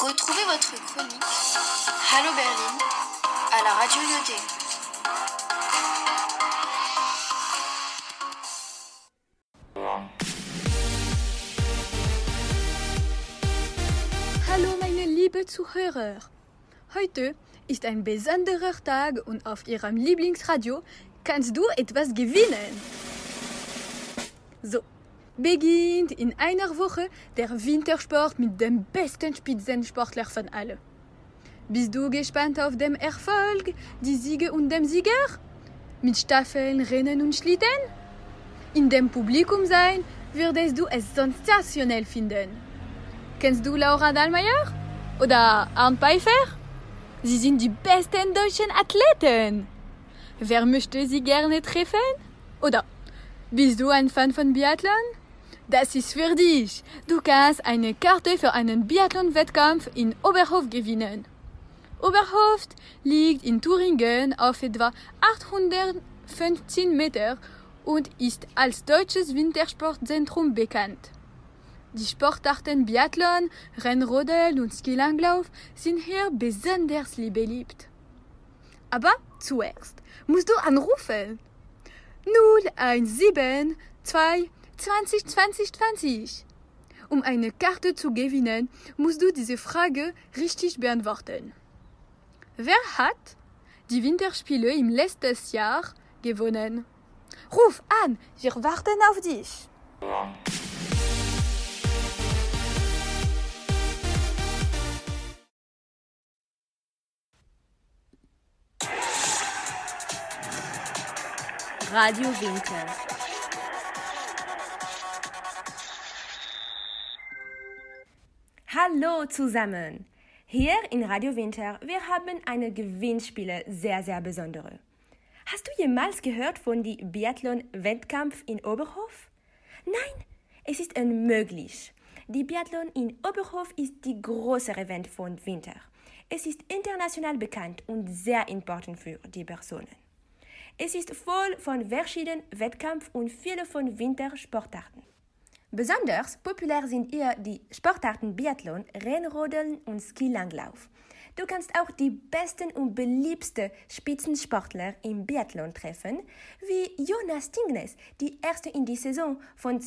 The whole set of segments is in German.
Retrouvez votre chronique Hallo Berlin à la Radio Lyoté. Hallo meine liebe Zuhörer. Heute ist ein besonderer Tag und auf Ihrem Lieblingsradio kannst du etwas gewinnen. So, beginnt in einer Woche der Wintersport mit dem besten Spitzensportler von allen. Bist du gespannt auf den Erfolg, die Siege und den Sieger? Mit Staffeln, Rennen und Schlitten? In dem Publikum sein würdest du es sensationell finden. Kennst du Laura Dahlmeier? Oder Arndt Pfeiffer? Sie sind die besten deutschen Athleten. Wer möchte sie gerne treffen? Oder bist du ein Fan von Biathlon? Das ist für dich. Du kannst eine Karte für einen Biathlon-Wettkampf in Oberhof gewinnen. Oberhof liegt in Thüringen auf etwa 815 Meter und ist als deutsches Wintersportzentrum bekannt. Die Sportarten Biathlon, Rennrodel und Skilanglauf sind hier besonders beliebt. Aber zuerst musst du anrufen. 017 2 20 20 20. Um eine Karte zu gewinnen, musst du diese Frage richtig beantworten. Wer hat die Winterspiele im letzten Jahr gewonnen? Ruf an, wir warten auf dich. Radio Winter. Hallo zusammen! Hier in Radio Winter, wir haben eine Gewinnspiele sehr besondere. Hast du jemals gehört von dem Biathlon-Wettkampf in Oberhof? Nein, es ist unmöglich. Die Biathlon in Oberhof ist die große Event von Winter. Es ist international bekannt und sehr important für die Personen. Es ist voll von verschiedenen Wettkämpfen und viele von Wintersportarten. Besonders populär sind hier die Sportarten Biathlon, Rennrodeln und Skilanglauf. Du kannst auch die besten und beliebtesten Spitzensportler im Biathlon treffen, wie Jonas Tingnes, die erste in die Saison von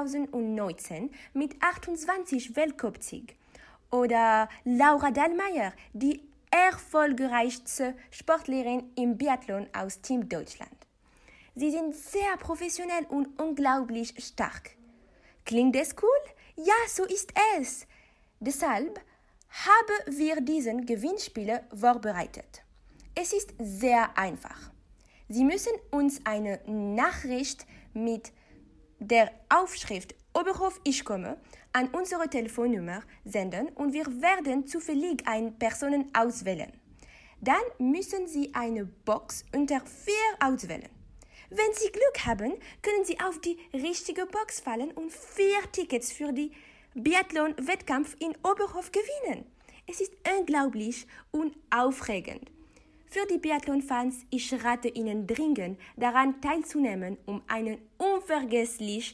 2019 mit 28 Weltcupsieg. Oder Laura Dahlmeier, die erfolgreichste Sportlerin im Biathlon aus Team Deutschland. Sie sind sehr professionell und unglaublich stark. Klingt es cool? Ja, so ist es. Deshalb haben wir diesen Gewinnspiel vorbereitet. Es ist sehr einfach. Sie müssen uns eine Nachricht mit der Aufschrift Oberhof ich komme an unsere Telefonnummer senden und wir werden zufällig eine Person auswählen. Dann müssen Sie eine Box unter 4 auswählen. Wenn Sie Glück haben, können Sie auf die richtige Box fallen und 4 Tickets für die Biathlon-Wettkampf in Oberhof gewinnen. Es ist unglaublich und aufregend. Für die Biathlon-Fans, ich rate Ihnen dringend, daran teilzunehmen, um ein unvergessliches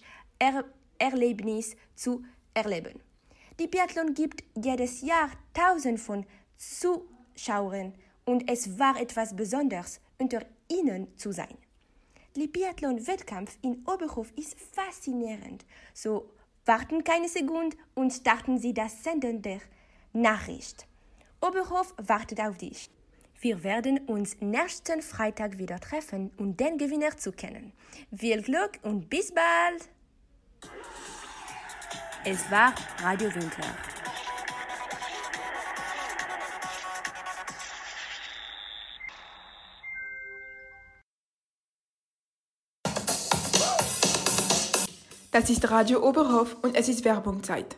Erlebnis zu erleben. Die Biathlon gibt jedes Jahr Tausende von Zuschauern und es war etwas Besonderes, unter ihnen zu sein. Der Biathlon-Wettkampf in Oberhof ist faszinierend. So warten keine Sekunde und starten Sie das Senden der Nachricht. Oberhof wartet auf dich. Wir werden uns nächsten Freitag wieder treffen, um den Gewinner zu kennen. Viel Glück und bis bald! Es war Radio Winter. Das ist Radio Oberhof und es ist Werbungzeit.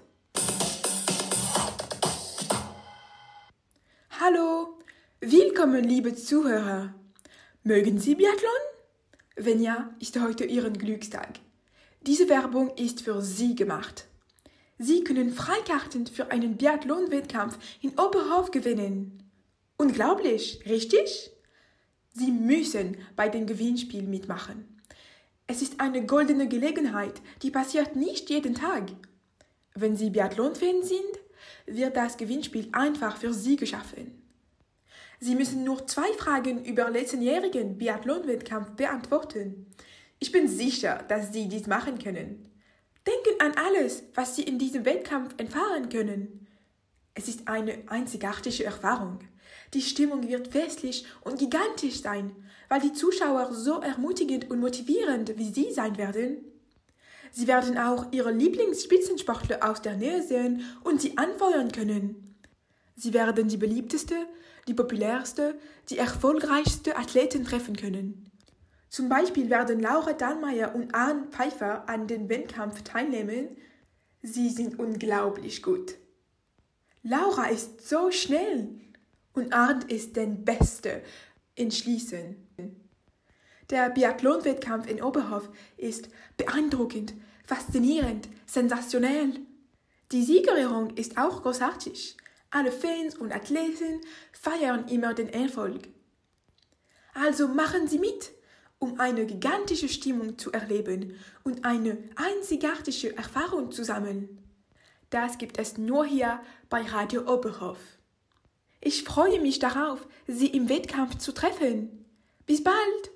Hallo, willkommen liebe Zuhörer. Mögen Sie Biathlon? Wenn ja, ist heute Ihren Glückstag. Diese Werbung ist für Sie gemacht. Sie können Freikarten für einen Biathlon-Wettkampf in Oberhof gewinnen. Unglaublich, richtig? Sie müssen bei dem Gewinnspiel mitmachen. Es ist eine goldene Gelegenheit, die passiert nicht jeden Tag. Wenn Sie Biathlon-Fan sind, wird das Gewinnspiel einfach für Sie geschaffen. Sie müssen nur 2 Fragen über letztenjährigen Biathlon-Wettkampf beantworten. Ich bin sicher, dass Sie dies machen können. Denken an alles, was Sie in diesem Wettkampf erfahren können. Es ist eine einzigartige Erfahrung. Die Stimmung wird festlich und gigantisch sein, weil die Zuschauer so ermutigend und motivierend wie Sie sein werden. Sie werden auch Ihre Lieblingsspitzensportler aus der Nähe sehen und sie anfeuern können. Sie werden die beliebteste, die populärste, die erfolgreichste Athleten treffen können. Zum Beispiel werden Laura Dallmayr und Arne Pfeiffer an dem Wettkampf teilnehmen. Sie sind unglaublich gut. Laura ist so schnell und Arne ist der Beste in Schließen. Der Biathlon-Wettkampf in Oberhof ist beeindruckend, faszinierend, sensationell. Die Siegerehrung ist auch großartig. Alle Fans und Athleten feiern immer den Erfolg. Also machen Sie mit, um eine gigantische Stimmung zu erleben und eine einzigartige Erfahrung zu sammeln. Das gibt es nur hier bei Radio Oberhof. Ich freue mich darauf, Sie im Wettkampf zu treffen. Bis bald!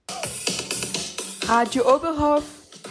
Radio Oberhof.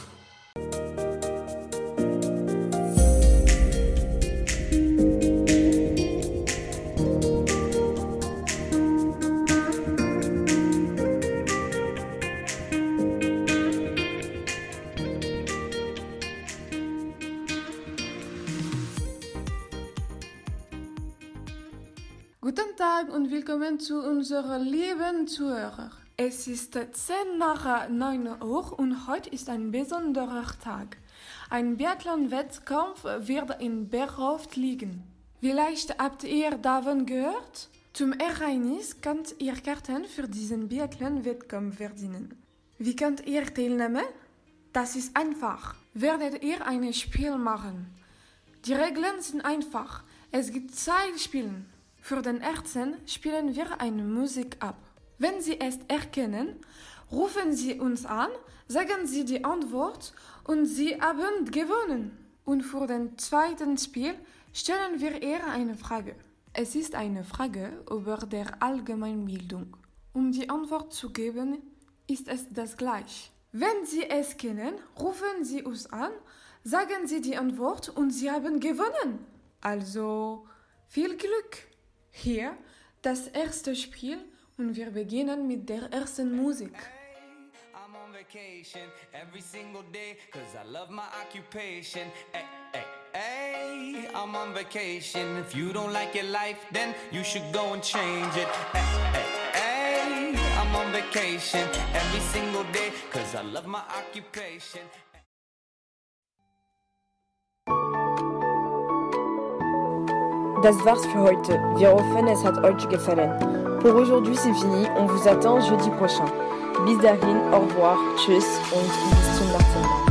Guten Tag und willkommen zu unseren lieben Zuhörern. Es ist 10 nach 9 Uhr und heute ist ein besonderer Tag. Ein Biathlon-Wettkampf wird in Berhof liegen. Vielleicht habt ihr davon gehört? Zum Ereignis könnt ihr Karten für diesen Biathlon-Wettkampf verdienen. Wie könnt ihr teilnehmen? Das ist einfach. Werdet ihr ein Spiel machen? Die Regeln sind einfach. Es gibt 2 Spiele. Für den ersten spielen wir eine Musik ab. Wenn Sie es erkennen, rufen Sie uns an, sagen Sie die Antwort und Sie haben gewonnen. Und für den zweiten Spiel stellen wir ihr eine Frage. Es ist eine Frage über der Allgemeinbildung. Um die Antwort zu geben, ist es das gleich. Wenn Sie es kennen, rufen Sie uns an, sagen Sie die Antwort und Sie haben gewonnen. Also viel Glück! Hier das erste Spiel und wir beginnen mit der ersten Musik. I'm on vacation every single day cause I love my occupation. Hey, I'm on vacation. If you don't like your life, then you should go and change it. Hey, I'm on vacation every single day cause I love my occupation. Das war's für heute. Wir hoffen, es hat euch gefallen. Pour aujourd'hui, c'est fini. On vous attend jeudi prochain. Bis dahin, au revoir, tschüss und bis zum nächsten Mal.